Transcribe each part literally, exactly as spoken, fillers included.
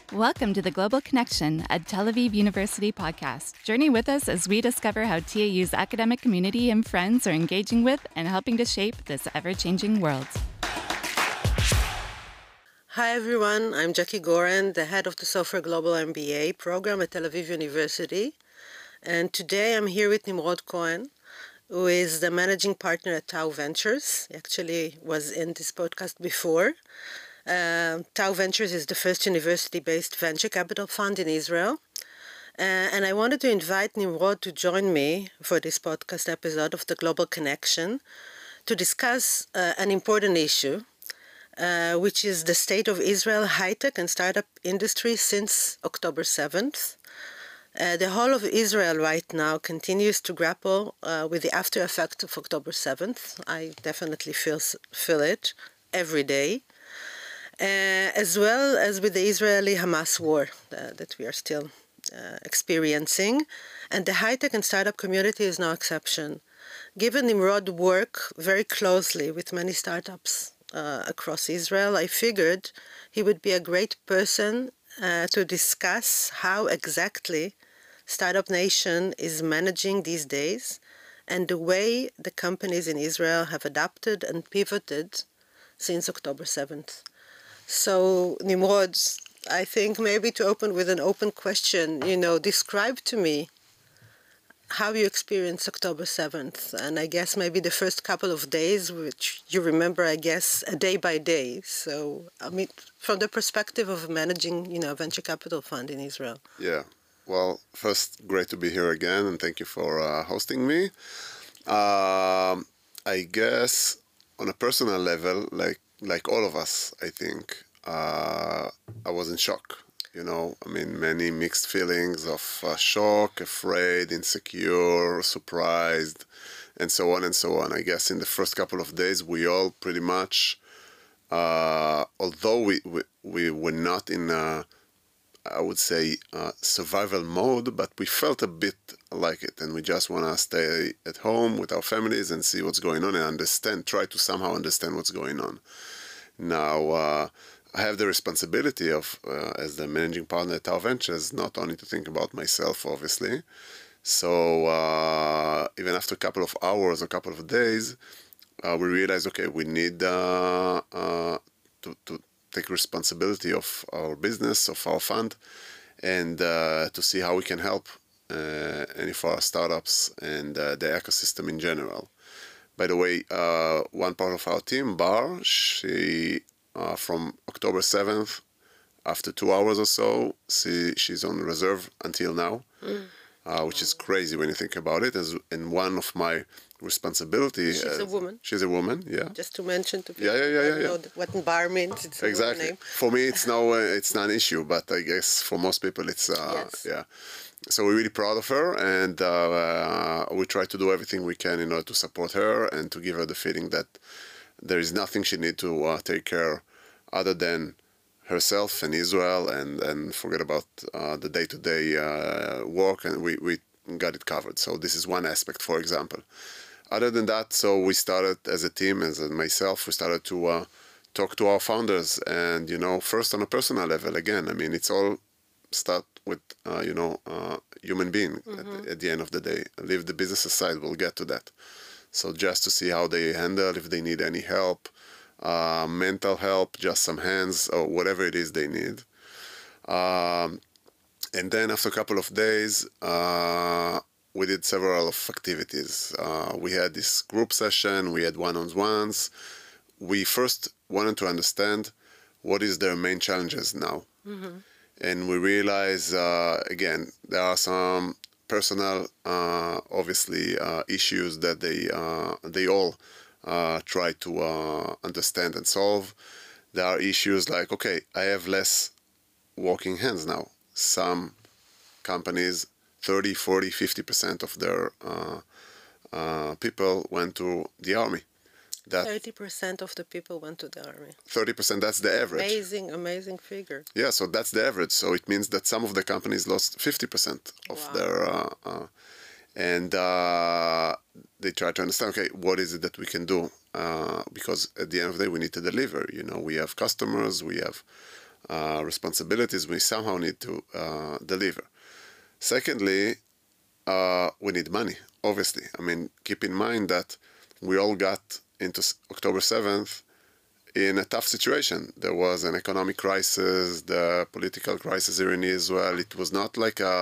Welcome to the Global Connection, a Tel Aviv University podcast. Journey with us as we discover how T A U's academic community and friends are engaging with and helping to shape this ever-changing world. Hi everyone, I'm Jackie Goren, the head of the Sofer Global M B A program at Tel Aviv University. And today I'm here with Nimrod Cohen, who is the managing partner at Tau Ventures. He actually was in this podcast before. Uh, Tau Ventures is the first university-based venture capital fund in Israel. Uh, and I wanted to invite Nimrod to join me for this podcast episode of the Global Connection to discuss uh, an important issue, uh, which is the state of Israel high-tech and startup industry since October seventh. Uh, the whole of Israel right now continues to grapple uh, with the after effects of October seventh. I definitely feel, feel it every day. Uh, as well as with the Israeli-Hamas war uh, that we are still uh, experiencing. And the high-tech and startup community is no exception. Given Nimrod work very closely with many startups uh, across Israel, I figured he would be a great person uh, to discuss how exactly Startup Nation is managing these days and the way the companies in Israel have adapted and pivoted since October seventh. So, Nimrod, I think maybe to open with an open question, you know, describe to me how you experienced October seventh, and I guess maybe the first couple of days, which you remember, I guess, a day by day. So, I mean, from the perspective of managing, you know, a venture capital fund in Israel. Yeah. Well, first, great to be here again, and thank you for uh, hosting me. Um, I guess on a personal level, like like all of us, I think, uh, I was in shock. You know, I mean, many mixed feelings of uh, shock, afraid, insecure, surprised, and so on and so on. I guess in the first couple of days, we all pretty much, uh, although we, we, we were not in, a, I would say, uh, survival mode, but we felt a bit like it, and we just want to stay at home with our families and see what's going on and understand, try to somehow understand what's going on. Now, uh, I have the responsibility of, uh, as the managing partner at Tau Ventures, not only to think about myself, obviously. So uh, even after a couple of hours, a couple of days, uh, we realized, okay, we need uh, uh, to, to take responsibility of our business, of our fund, and uh, to see how we can help uh, any of our startups and uh, the ecosystem in general. By the way, uh, one part of our team, Bar, she, uh, from October seventh, after two hours or so, she, she's on reserve until now, mm. uh, which is crazy when you think about it. As, and one of my responsibilities... She's uh, a woman. She's a woman, yeah. Just to mention to people yeah, yeah, yeah, yeah, yeah. know what Bar means. It's a exactly. name. For me, it's, no, uh, it's not an issue, but I guess for most people, it's... Uh, yes. Yeah. So we're really proud of her, and uh, uh, we try to do everything we can in order to support her and to give her the feeling that there is nothing she needs to uh, take care other than herself and Israel, and, and forget about uh, the day-to-day uh, work, and we, we got it covered. So this is one aspect, for example. Other than that, so we started as a team, as myself, we started to uh, talk to our founders, and, you know, first on a personal level, again, I mean, it's all start with, uh, you know, uh, human being mm-hmm. at, the, at the end of the day. Leave the business aside, we'll get to that. So just to see how they handle, if they need any help, uh, mental help, just some hands, or whatever it is they need. Um, and then after a couple of days, uh, we did several of activities. Uh, we had this group session, we had one-on-ones. We first wanted to understand what is their main challenges now. Mm-hmm. And we realize, uh, again, there are some personal, uh, obviously, uh, issues that they uh, they all uh, try to uh, understand and solve. There are issues like, okay, I have less working hands now. Some companies, thirty, forty, fifty percent of their uh, uh, people went to the army. That thirty percent of the people went to the army. thirty percent, that's the average. Amazing, amazing figure. Yeah, so that's the average. So it means that some of the companies lost fifty percent of wow. their... Uh, uh, and uh, they try to understand, okay, what is it that we can do? Uh, because at the end of the day, we need to deliver. You know, we have customers, we have uh, responsibilities, we somehow need to uh, deliver. Secondly, uh, we need money, obviously. I mean, keep in mind that we all got into October seventh in a tough situation. There was an economic crisis, the political crisis here in Israel. It was not like a...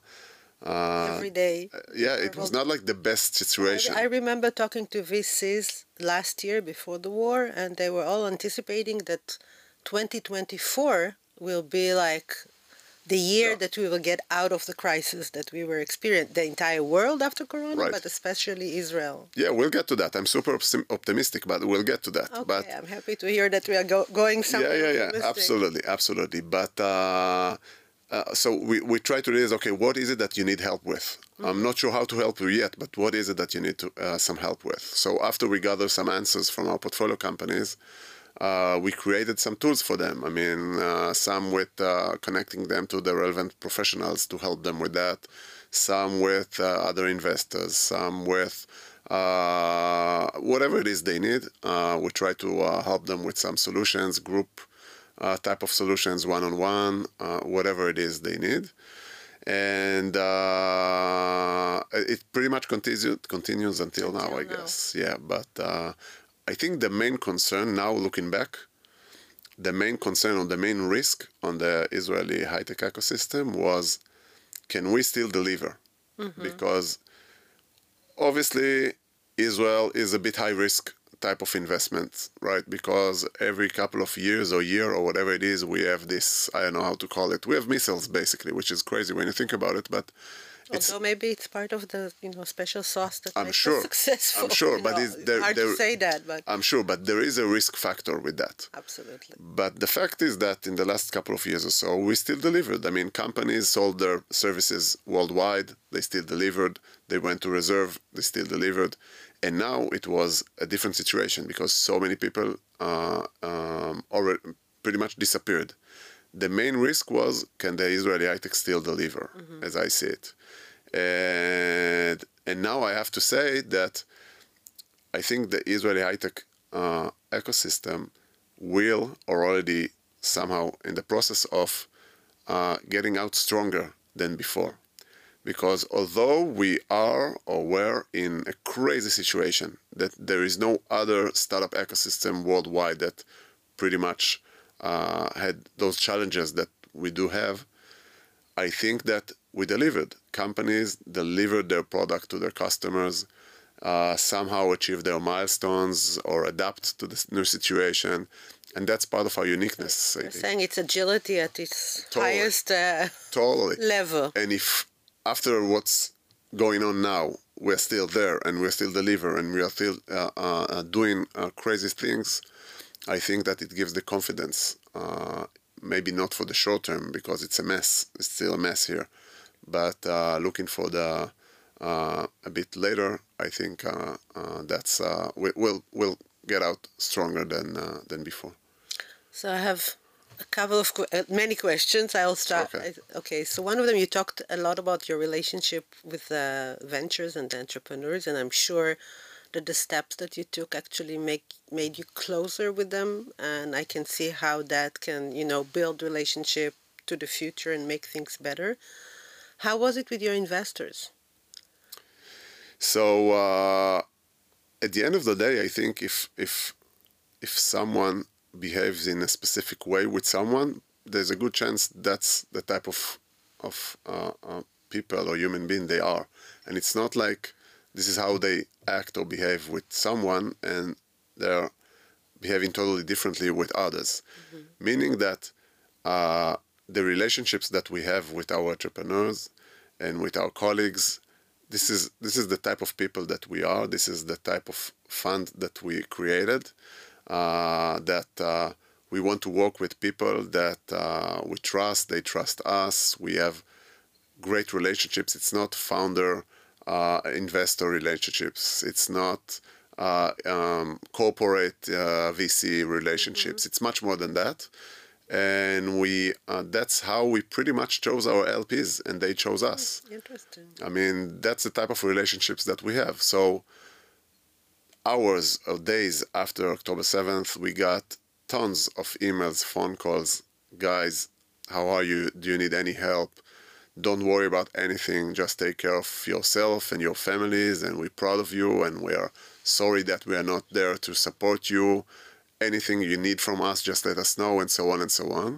Uh, Every day. Yeah, it was not like the best situation. I, I remember talking to V Cs last year before the war, and they were all anticipating that twenty twenty-four will be like the year yeah. that we will get out of the crisis that we were experiencing, the entire world after Corona, right. but especially Israel. Yeah, we'll get to that. I'm super optimistic, but we'll get to that. Okay, but, I'm happy to hear that we are go going somewhere. Yeah, yeah, yeah, absolutely, absolutely. But uh, uh, so we, we try to realize, okay, what is it that you need help with? Mm-hmm. I'm not sure how to help you yet, but what is it that you need to, uh, some help with? So after we gather some answers from our portfolio companies, Uh, we created some tools for them. I mean, uh, some with uh, connecting them to the relevant professionals to help them with that, some with uh, other investors, some with uh, whatever it is they need. Uh, we try to uh, help them with some solutions, group uh, type of solutions, one-on-one, uh, whatever it is they need. And uh, it pretty much continues, continues until, until now, I now. guess. Yeah, but... Uh, I think the main concern now, looking back, the main concern or the main risk on the Israeli high-tech ecosystem was, can we still deliver? Mm-hmm. Because obviously Israel is a bit high-risk type of investment, right? Because every couple of years or year or whatever it is, we have this, I don't know how to call it, we have missiles basically, which is crazy when you think about it, but although maybe it's part of the, you know, special sauce that I'm makes sure, us successful. I'm sure, but know, it's there, hard there, to say that, but I'm sure, but there is a risk factor with that. Absolutely. But the fact is that in the last couple of years or so, we still delivered. I mean, companies sold their services worldwide. They still delivered. They went to reserve. They still delivered. And now it was a different situation because so many people uh, um, already pretty much disappeared. The main risk was, can the Israeli high-tech still deliver, mm-hmm. as I see it. And, and now I have to say that I think the Israeli high-tech uh, ecosystem will, or already somehow in the process of uh, getting out stronger than before. Because although we are or were in a crazy situation, that there is no other startup ecosystem worldwide that pretty much uh, had those challenges that we do have, I think that we delivered. Companies delivered their product to their customers, uh, somehow achieve their milestones or adapt to this new situation. And that's part of our uniqueness. You're saying it's agility at its totally. highest uh, totally. level. And if after what's going on now, we're still there and we're still deliver and we are still uh, uh, doing uh, crazy things, I think that it gives the confidence, uh, maybe not for the short term because it's a mess, it's still a mess here, but uh, looking for the uh, a bit later, I think uh, uh, that's uh, we, we'll we'll get out stronger than uh, than before. So I have a couple of uh, many questions. I'll start. Okay. okay. So one of them, you talked a lot about your relationship with the ventures and the entrepreneurs, and I'm sure that the steps that you took actually make made you closer with them, and I can see how that can, you know, build relationship to the future and make things better. How was it with your investors? So uh, at the end of the day, I think if if if someone behaves in a specific way with someone, there's a good chance that's the type of of uh, uh, people or human being they are, and it's not like this is how they act or behave with someone and they're behaving totally differently with others. Mm-hmm. Meaning that uh, the relationships that we have with our entrepreneurs and with our colleagues, this is this is the type of people that we are. This is the type of fund that we created, uh, that uh, we want to work with people that uh, we trust, they trust us. We have great relationships. It's not founder Uh, investor relationships. It's not uh, um, corporate uh, V C relationships. Mm-hmm. It's much more than that. And we uh, that's how we pretty much chose our L Ps, and they chose us. Interesting. I mean, that's the type of relationships that we have. So hours or days after October seventh, we got tons of emails, phone calls, guys, how are you? Do you need any help? Don't worry about anything. Just take care of yourself and your families, and we're proud of you, and we are sorry that we are not there to support you. Anything you need from us, just let us know, and so on and so on.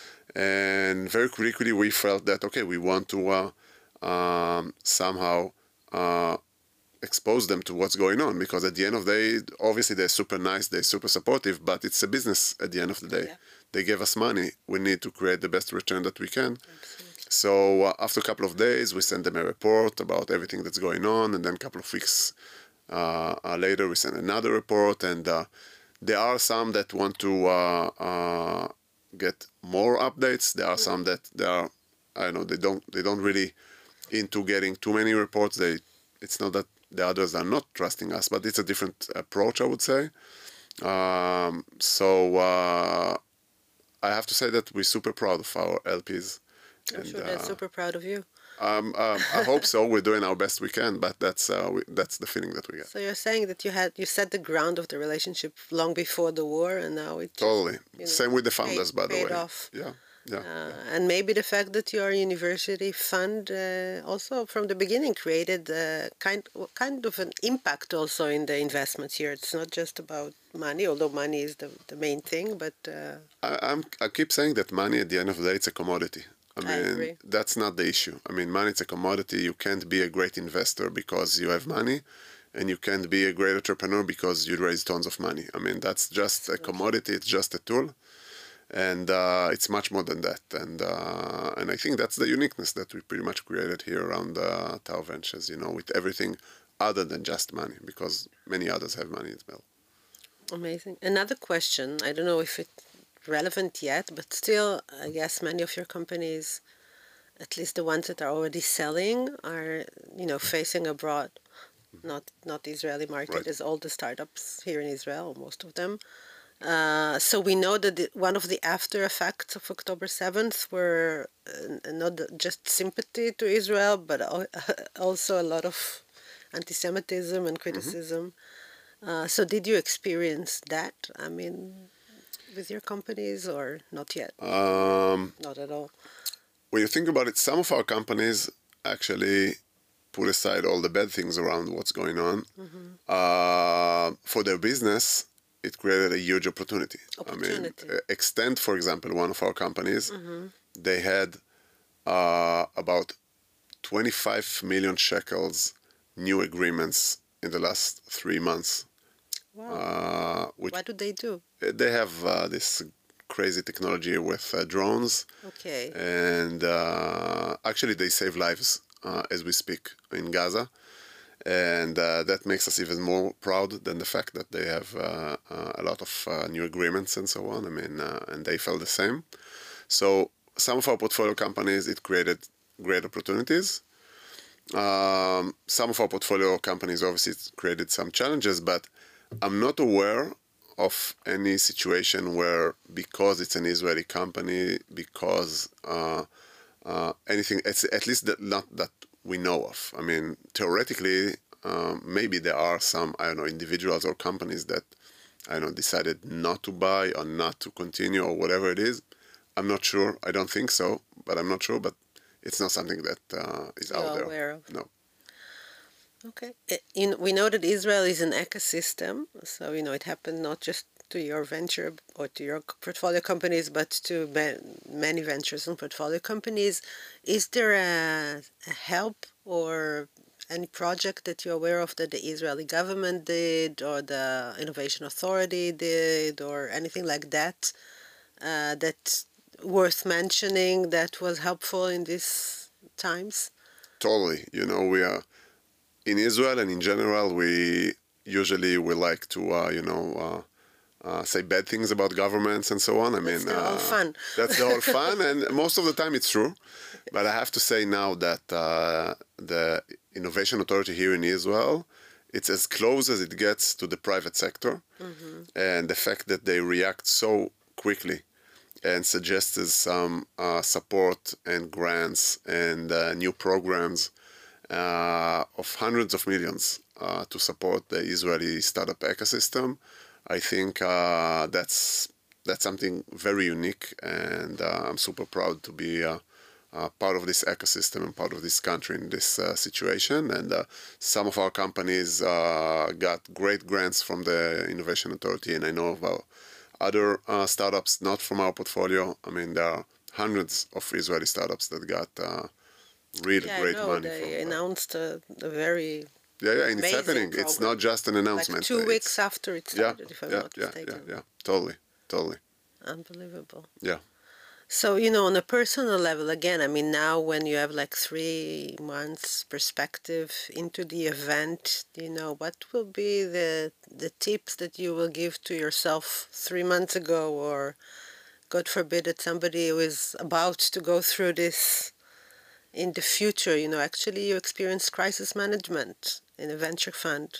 And very quickly we felt that, okay, we want to uh, um, somehow uh, expose them to what's going on, because at the end of the day, obviously they're super nice, they're super supportive, but it's a business at the end of the day. Yeah. They gave us money. We need to create the best return that we can. Absolutely. So uh, after a couple of days, we sent them a report about everything that's going on, and then a couple of weeks uh, uh, later, we sent another report, and uh, there are some that want to uh, uh, get more updates. There are some that they are, I don't know, they don't they don't really into getting too many reports. They, it's not that the others are not trusting us, but it's a different approach, I would say. Um, so uh, I have to say that we're super proud of our L Ps. I'm and, sure they're uh, super proud of you. Um, um, I hope so. We're doing our best we can, but that's uh, we, that's the feeling that we get. So you're saying that you had you set the ground of the relationship long before the war, and now it Totally. You know, Same with the founders, paid, by the paid way. Off. Yeah, yeah, uh, yeah. And maybe the fact that your university fund uh, also from the beginning created uh, kind kind of an impact also in the investments here. It's not just about money, although money is the the main thing, but uh, I, I'm I keep saying that money at the end of the day, it's a commodity. I mean, I agree. That's not the issue. I mean, money is a commodity. You can't be a great investor because you have money, and you can't be a great entrepreneur because you raise tons of money. I mean, that's just a commodity. It's just a tool, and uh, it's much more than that. And uh, and I think that's the uniqueness that we pretty much created here around uh, Tau Ventures. You know, with everything other than just money, because many others have money as well. Amazing. Another question. I don't know if it. relevant yet, but still, I guess many of your companies, at least the ones that are already selling, are, you know, facing abroad, not not the Israeli market, Right. as all the startups here in Israel, most of them. Uh, so we know that the, one of the after effects of October seventh were uh, not just sympathy to Israel, but also a lot of anti-Semitism and criticism. Mm-hmm. uh, so did you experience that? I mean, with your companies, or not yet? Um, not at all. When you think about it, some of our companies actually put aside all the bad things around what's going on. Mm-hmm. Uh, for their business, it created a huge opportunity. Opportunity. I mean, Extend, for example, one of our companies, mm-hmm. they had uh, about twenty-five million shekels new agreements in the last three months. Wow. Uh, which what do they do? They have uh, this crazy technology with uh, drones. Okay. And uh, actually, they save lives uh, as we speak in Gaza. And uh, that makes us even more proud than the fact that they have uh, uh, a lot of uh, new agreements and so on. I mean, uh, and they felt the same. So some of our portfolio companies, it created great opportunities. Um, some of our portfolio companies, obviously, it created some challenges, but I'm not aware of any situation where, because it's an Israeli company, because uh, uh, anything, it's at least that, not that we know of. I mean, theoretically, uh, maybe there are some, I don't know, individuals or companies that, I don't know, decided not to buy or not to continue or whatever it is. I'm not sure. I don't think so, but I'm not sure. But it's not something that uh, is You're out there. aware of. No. Okay. In, we know that Israel is an ecosystem, so, you know, it happened not just to your venture or to your portfolio companies, but to many ventures and portfolio companies. Is there a, a help or any project that you're aware of that the Israeli government did, or the Innovation Authority did, or anything like that, uh, that's worth mentioning that was helpful in these times? Totally. You know, we are... In Israel and in general, we usually we like to, uh, you know, uh, uh, say bad things about governments and so on. I that's mean, the uh, whole fun. That's the whole fun, and most of the time it's true. But I have to say now that uh, the Innovation Authority here in Israel, it's as close as it gets to the private sector, mm-hmm. and the fact that they react so quickly and suggested some uh, support and grants and uh, new programs. Uh, of hundreds of millions uh, to support the Israeli startup ecosystem. I think uh, that's that's something very unique, and uh, I'm super proud to be uh, uh, part of this ecosystem and part of this country in this uh, situation. And uh, some of our companies uh, got great grants from the Innovation Authority, and I know about other uh, startups not from our portfolio. I mean, there are hundreds of Israeli startups that got uh, really Yeah, great I know. money. They from, uh, announced a, a very yeah, yeah, and it's amazing happening. It's program. not just an announcement. Like two It's- weeks after it yeah, started, if I'm yeah, not yeah, mistaken. yeah, yeah, totally, totally. Unbelievable. Yeah. So, you know, on a personal level, again, I mean, now when you have like three months perspective into the event, you know, what will be the the tips that you will give to yourself three months ago, or God forbid that somebody who is about to go through this in the future, you know, actually you experience crisis management in a venture fund.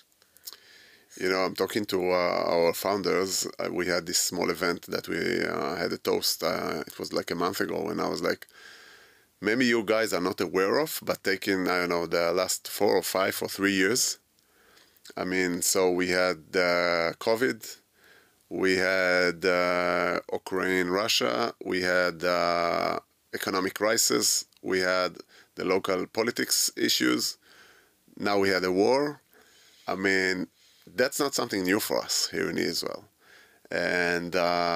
You know, I'm talking to uh, our founders. Uh, we had this small event that we uh, had a toast. Uh, it was like a month ago, and I was like, maybe you guys are not aware of, but taking, I don't know, the last four or five or three years. I mean, so we had uh, COVID, we had uh, Ukraine, Russia, we had uh, economic crisis, we had the local politics issues, now we had a war. I mean, that's not something new for us here in Israel. And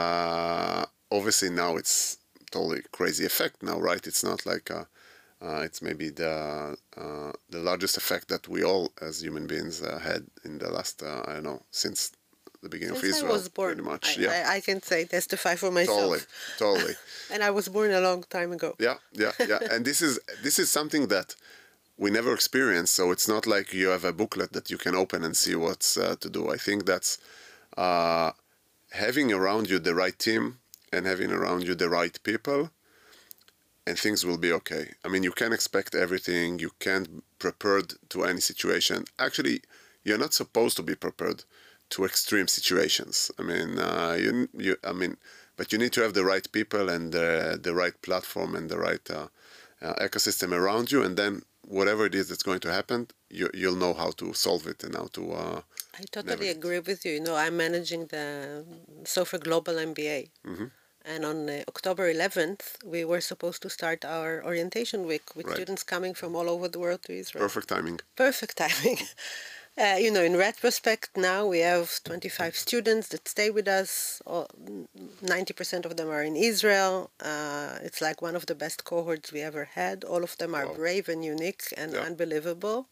uh, obviously now it's totally crazy effect now, right? It's not like, uh, uh, it's maybe the uh, the largest effect that we all as human beings uh, had in the last, uh, I don't know, since the beginning Since of Israel. I was born, pretty much, I, yeah. I, I can say, testify for myself. Totally, totally. And I was born a long time ago. Yeah, yeah, yeah. And this is this is something that we never experienced. So it's not like you have a booklet that you can open and see what's uh, to do. I think that's uh, having around you the right team and having around you the right people, and things will be okay. I mean, you can't expect everything. You can't be prepared to any situation. Actually, you're not supposed to be prepared to extreme situations. I mean, uh, you, you, I mean, but you need to have the right people and the, the right platform and the right uh, uh, ecosystem around you, and then whatever it is that's going to happen, you, you'll know how to solve it and how to. Uh, I totally navigate. agree with you. You know, I'm managing the Sofer Global M B A. Mm-hmm. And on uh, October eleventh, we were supposed to start our orientation week with Right. students coming from all over the world to Israel. Perfect timing. Perfect timing. Uh, you know, in retrospect, now we have twenty-five students that stay with us. All, ninety percent of them are in Israel. Uh, it's like one of the best cohorts we ever had. All of them are Wow. brave and unique and Yeah. unbelievable.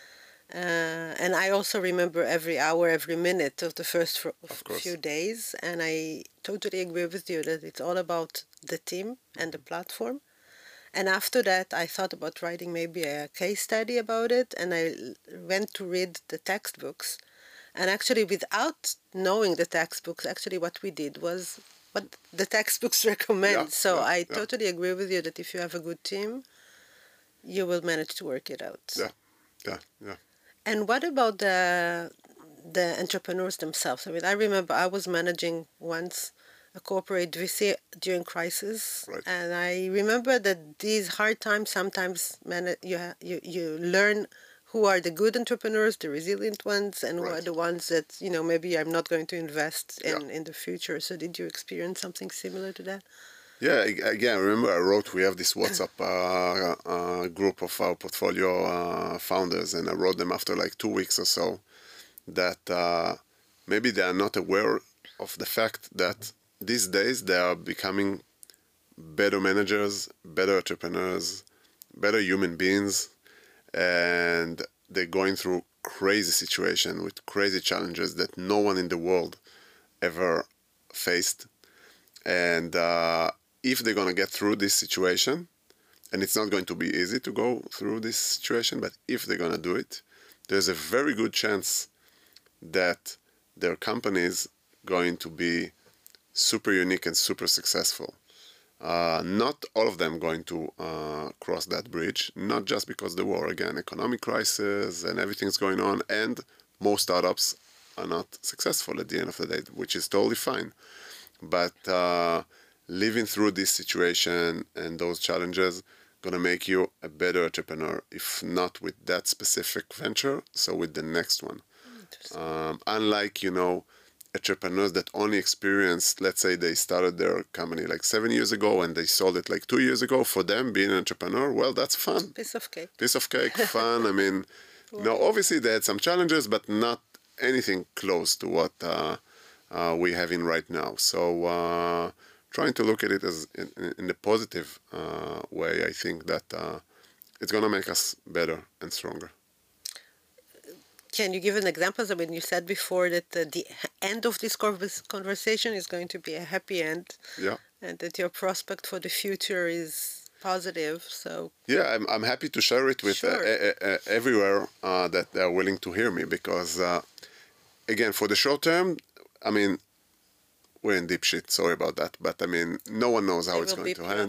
Uh, and I also remember every hour, every minute of the first fr- Of course. few days. And I totally agree with you that it's all about the team and the platform. And after that, I thought about writing maybe a case study about it, and I l- went to read the textbooks. And actually, without knowing the textbooks, actually what we did was what the textbooks recommend. Yeah, so yeah, I yeah. totally agree with you that if you have a good team, you will manage to work it out. Yeah, yeah, yeah. And what about the the entrepreneurs themselves? I mean, I remember I was managing once a corporate V C during crisis, Right. and I remember that these hard times sometimes man- you ha- you you learn who are the good entrepreneurs, the resilient ones, and who are Right. the ones that you know maybe I'm not going to invest in Yeah. in the future. So did you experience something similar to that? Yeah, ag- again, remember I wrote, we have this WhatsApp uh, uh, group of our portfolio uh, founders, and I wrote them after like two weeks or so that uh, maybe they are not aware of the fact that these days they are becoming better managers, better entrepreneurs, better human beings, and they're going through crazy situation with crazy challenges that no one in the world ever faced. And uh, if they're going to get through this situation, and it's not going to be easy to go through this situation, but if they're going to do it, there's a very good chance that their company is going to be super unique and super successful. Uh, not all of them going to uh, cross that bridge, not just because the war, again, economic crisis and everything's going on, and most startups are not successful at the end of the day, which is totally fine. But uh, living through this situation and those challenges gonna make you a better entrepreneur, if not with that specific venture, so with the next one. Um, unlike, you know, entrepreneurs that only experienced, let's say they started their company like seven years ago and they sold it like two years ago. For them, being an entrepreneur, well, that's fun. Piece of cake. Piece of cake, fun. I mean, wow. No, obviously they had some challenges, but not anything close to what uh, uh, we have in right now. So uh, trying to look at it as in, in a positive uh, way, I think that uh, it's going to make us better and stronger. Can you give an example? I mean, you said before that uh, the end of this conversation is going to be a happy end. Yeah. And that your prospect for the future is positive. So yeah, I'm I'm happy to share it with sure. uh, uh, uh, everywhere uh, that they're willing to hear me, because uh, again, for the short term, I mean, we're in deep shit. Sorry about that, but I mean, no one knows how I it's going to end.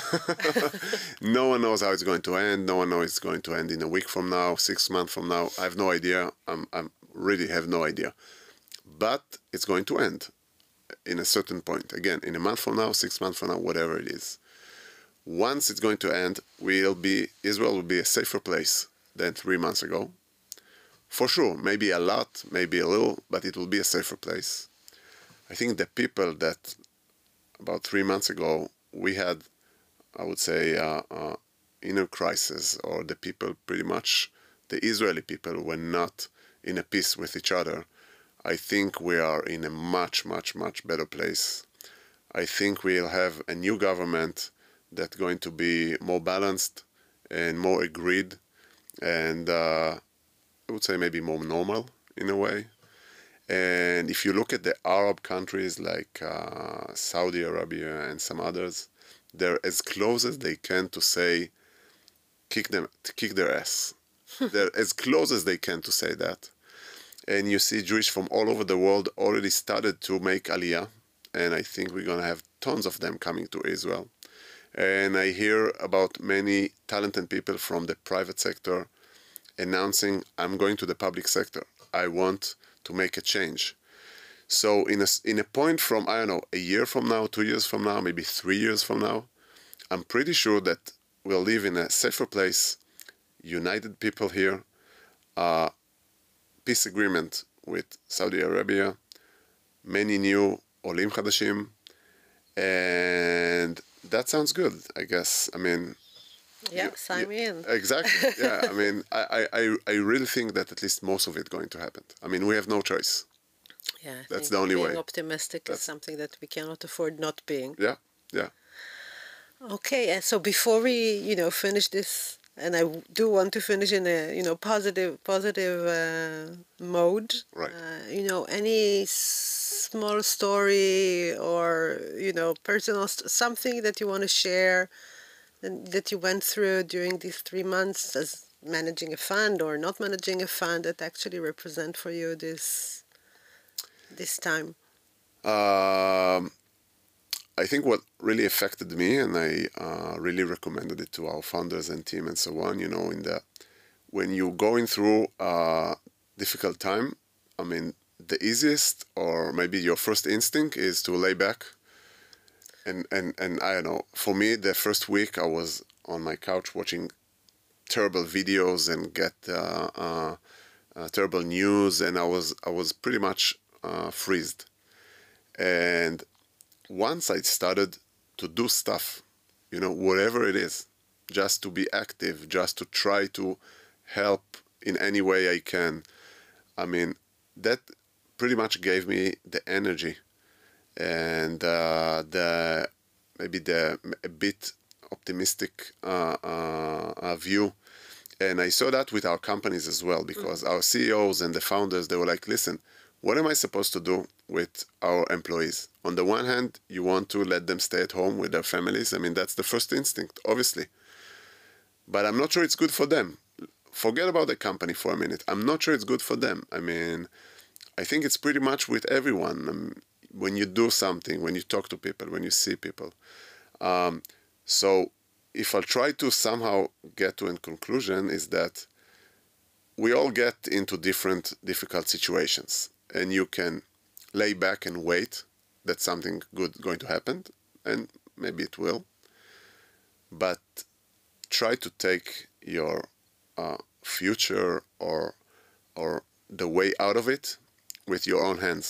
No one knows how it's going to end. No one knows it's going to end in a week from now, six months from now. I have no idea. I'm I'm really have no idea, but it's going to end in a certain point. Again, in a month from now, six months from now, whatever it is. Once it's going to end, we'll be Israel will be a safer place than three months ago. For sure, maybe a lot, maybe a little, but it will be a safer place. I think the people that about three months ago we had, I would say, uh, uh, inner crisis, or the people pretty much, the Israeli people were not in a peace with each other. I think we are in a much, much, much better place. I think we'll have a new government that's going to be more balanced and more agreed, and uh, I would say maybe more normal in a way. And if you look at the Arab countries like uh, Saudi Arabia and some others, they're as close as they can to say, kick them, to kick their ass. They're as close as they can to say that. And you see Jewish from all over the world already started to make Aliyah, and I think we're going to have tons of them coming to Israel. And I hear about many talented people from the private sector announcing, I'm going to the public sector. I want to make a change. So in a, in a point from, I don't know, a year from now, two years from now, maybe three years from now, I'm pretty sure that we'll live in a safer place, united people here, uh, peace agreement with Saudi Arabia, many new Olim Chadashim, and that sounds good, I guess. I mean, yeah, you, sign you, me in. Exactly. Yeah, I mean, I, I, I really think that at least most of it going to happen. I mean, we have no choice. Yeah, I that's think the only being way. Being optimistic that's, is something that we cannot afford not being. Yeah, yeah. Okay, and so before we, you know, finish this, and I do want to finish in a, you know, positive, positive uh, mode. Right. Uh, you know, any small story or, you know, personal st- something that you want to share that you went through during these three months as managing a fund or not managing a fund that actually represent for you this this time? Um, I think what really affected me, and I uh, really recommended it to our founders and team and so on, you know, in the when you're going through a difficult time, I mean, the easiest or maybe your first instinct is to lay back. And, and, and I don't know, for me, the first week I was on my couch watching terrible videos and get uh, uh, uh, terrible news, and I was I was pretty much uh, freezed. And once I started to do stuff, you know, whatever it is, just to be active, just to try to help in any way I can, I mean, that pretty much gave me the energy and uh, the maybe the a bit optimistic uh, uh, view. And I saw that with our companies as well, because mm-hmm. our C E Os and the founders, they were like, listen, what am I supposed to do with our employees? On the one hand, you want to let them stay at home with their families. I mean, that's the first instinct, obviously. But I'm not sure it's good for them. Forget about the company for a minute. I'm not sure it's good for them. I mean, I think it's pretty much with everyone. Um, when you do something, when you talk to people, when you see people. Um, so if I'll try to somehow get to a conclusion is that we all get into different difficult situations, and you can lay back and wait that something good is going to happen, and maybe it will. But try to take your uh, future or or the way out of it with your own hands.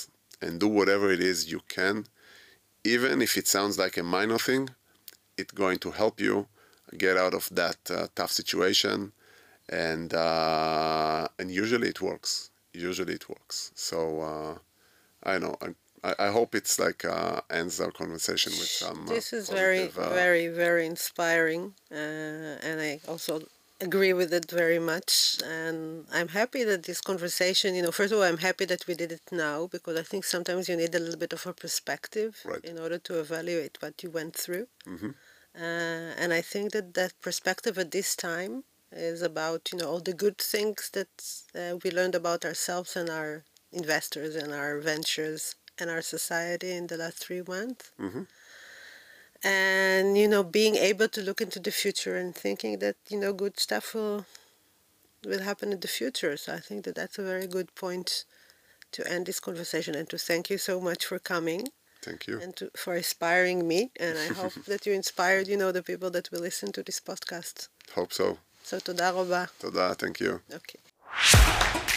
and do whatever it is you can. Even if it sounds like a minor thing, it's going to help you get out of that uh, tough situation. And uh, and usually it works. Usually it works. So uh, I know. I, I hope it's like uh, ends our conversation with some. This uh, is very, positive, uh, very, very inspiring, uh, and I also agree with it very much. And I'm happy that this conversation, you know, first of all, I'm happy that we did it now, because I think sometimes you need a little bit of a perspective Right. in order to evaluate what you went through. Mm-hmm. Uh, and I think that that perspective at this time is about, you know, all the good things that uh, we learned about ourselves and our investors and our ventures and our society in the last three months. Mm-hmm. And, you know, being able to look into the future and thinking that, you know, good stuff will will happen in the future. So I think that that's a very good point to end this conversation, and to thank you so much for coming. Thank you. And to, for inspiring me. And I hope that you inspired, you know, the people that will listen to this podcast. Hope so. So, תודה רבה. תודה, thank you. Okay.